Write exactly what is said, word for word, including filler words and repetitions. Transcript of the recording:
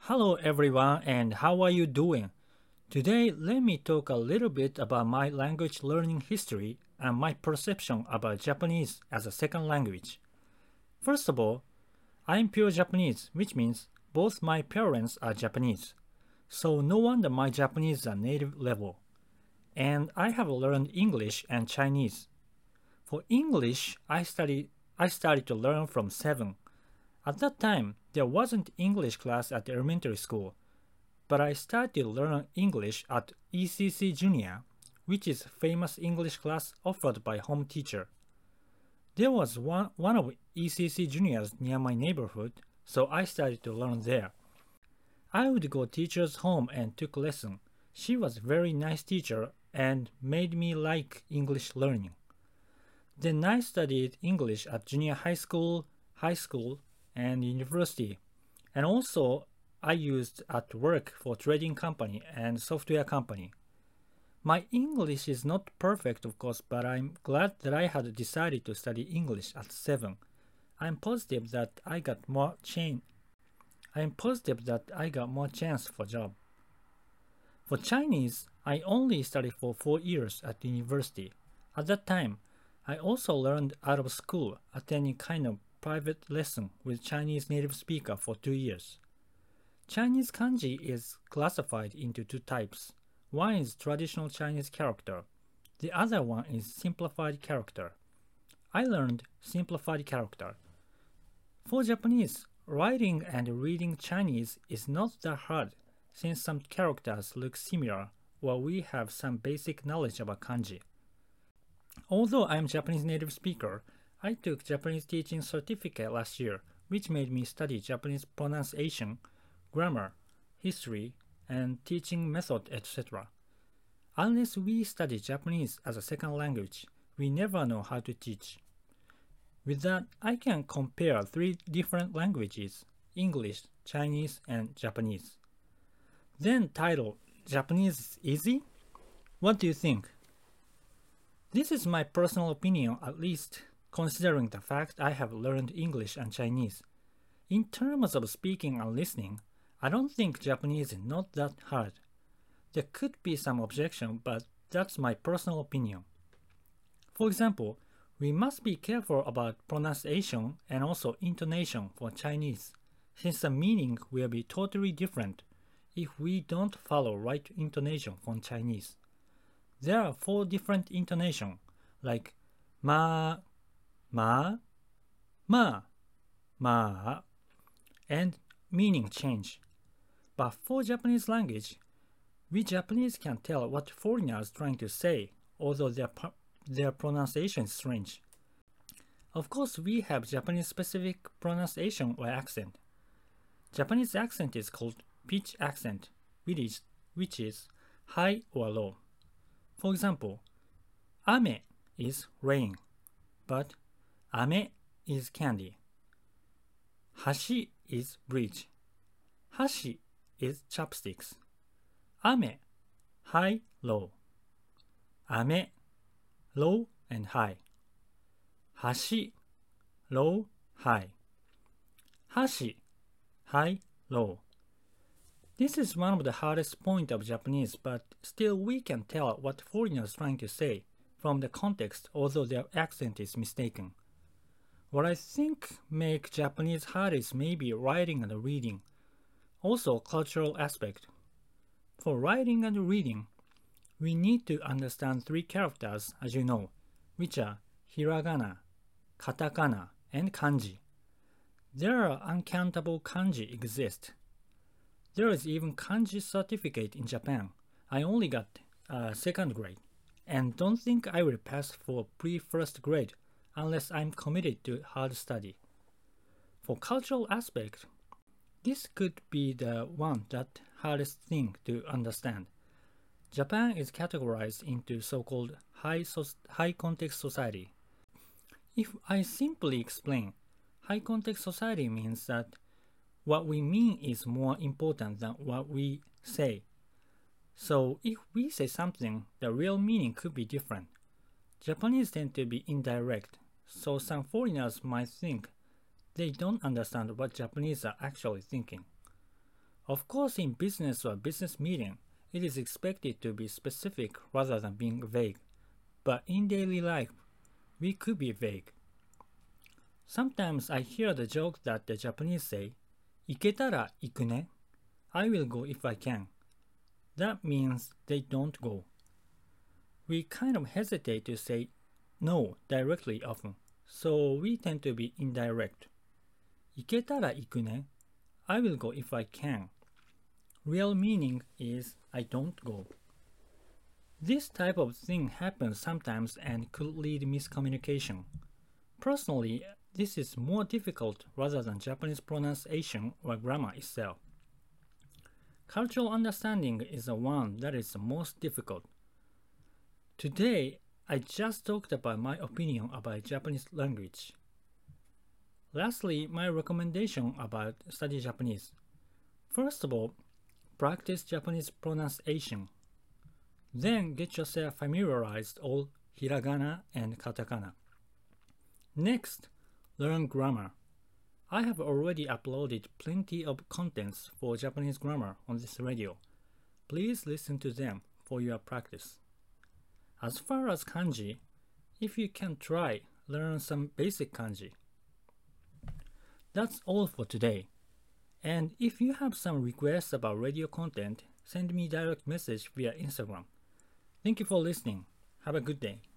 Hello everyone, and how are you doing? Today, let me talk a little bit about my language learning history and my perception about Japanese as a second language. First of all, I'm pure Japanese, which means both my parents are Japanese. So no wonder my Japanese is a native level. And I have learned English and Chinese. For English, I studied I started to learn from seven. At that time, there wasn't English class at the elementary school, but I started to learn English at E C C Junior, which is famous English class offered by home teacher. There was one, one of E C C Juniors near my neighborhood, so I started to learn there. I would go teacher's home and took lesson. She was very nice teacher and made me like English learning. Then I studied English at junior high school, high school, and university. And also I used at work for trading company and software company. My English is not perfect of course, but I'm glad that I had decided to study English at seven. I'm positive that I got more chance I'm positive that I got more chance for job. For Chinese, I only studied for four years at university. At that time, I also learned out of school, attending kind of private lesson with Chinese native speaker for two years. Chinese kanji is classified into two types. One is traditional Chinese character. The other one is simplified character. I learned simplified character. For Japanese, writing and reading Chinese is not that hard since some characters look similar or we have some basic knowledge about kanji. Although I am Japanese native speaker, I took Japanese teaching certificate last year, which made me study Japanese pronunciation, grammar, history, and teaching method, et cetera. Unless we study Japanese as a second language, we never know how to teach. With that, I can compare three different languages, English, Chinese, and Japanese. Then title, Japanese is easy? What do you think? This is my personal opinion, at least considering the fact I have learned English and Chinese. In terms of speaking and listening, I don't think Japanese is not that hard. There could be some objection, but that's my personal opinion. For example, we must be careful about pronunciation and also intonation for Chinese, since the meaning will be totally different if we don't follow right intonation from Chinese. There are four different intonations, like ma, ma, ma, ma, and meaning change. But for Japanese language, we Japanese can tell what foreigners trying to say, although their, their pronunciation is strange. Of course, we have Japanese specific pronunciation or accent. Japanese accent is called pitch accent, which is, which is high or low. For example, ame is rain, but ame is candy. Hashi is bridge. Hashi is chopsticks. Ame, high, low. Ame, low and high. Hashi, low, high. Hashi, high, low. This is one of the hardest points of Japanese, but still we can tell what foreigners are trying to say from the context, although their accent is mistaken. What I think make Japanese hard is maybe writing and reading. Also cultural aspect. For writing and reading, we need to understand three characters, as you know, which are hiragana, katakana, and kanji. There are uncountable kanji exist. There is even kanji certificate in Japan. I only got uh, second grade, and don't think I will pass for pre-first grade unless I'm committed to hard study. For cultural aspect, this could be the one that hardest thing to understand. Japan is categorized into so-called high, so high context society. If I simply explain, high context society means that what we mean is more important than what we say. So if we say something, the real meaning could be different. Japanese tend to be indirect, so some foreigners might think they don't understand what Japanese are actually thinking. Of course, in business or business meeting, it is expected to be specific rather than being vague. But in daily life, we could be vague. Sometimes I hear the joke that the Japanese say, 行けたら行くね. I will go if I can. That means they don't go. We kind of hesitate to say no directly often, so we tend to be indirect. 行けたら行くね. I will go if I can. Real meaning is I don't go. This type of thing happens sometimes and could lead miscommunication. Personally, this is more difficult rather than Japanese pronunciation or grammar itself. Cultural understanding is the one that is the most difficult. Today, I just talked about my opinion about Japanese language. Lastly, my recommendation about study Japanese. First of all, practice Japanese pronunciation. Then get yourself familiarized all hiragana and katakana. Next, learn grammar. I have already uploaded plenty of contents for Japanese grammar on this radio. Please listen to them for your practice. As far as kanji, if you can try, learn some basic kanji. That's all for today. And if you have some requests about radio content, send me direct message via Instagram. Thank you for listening. Have a good day.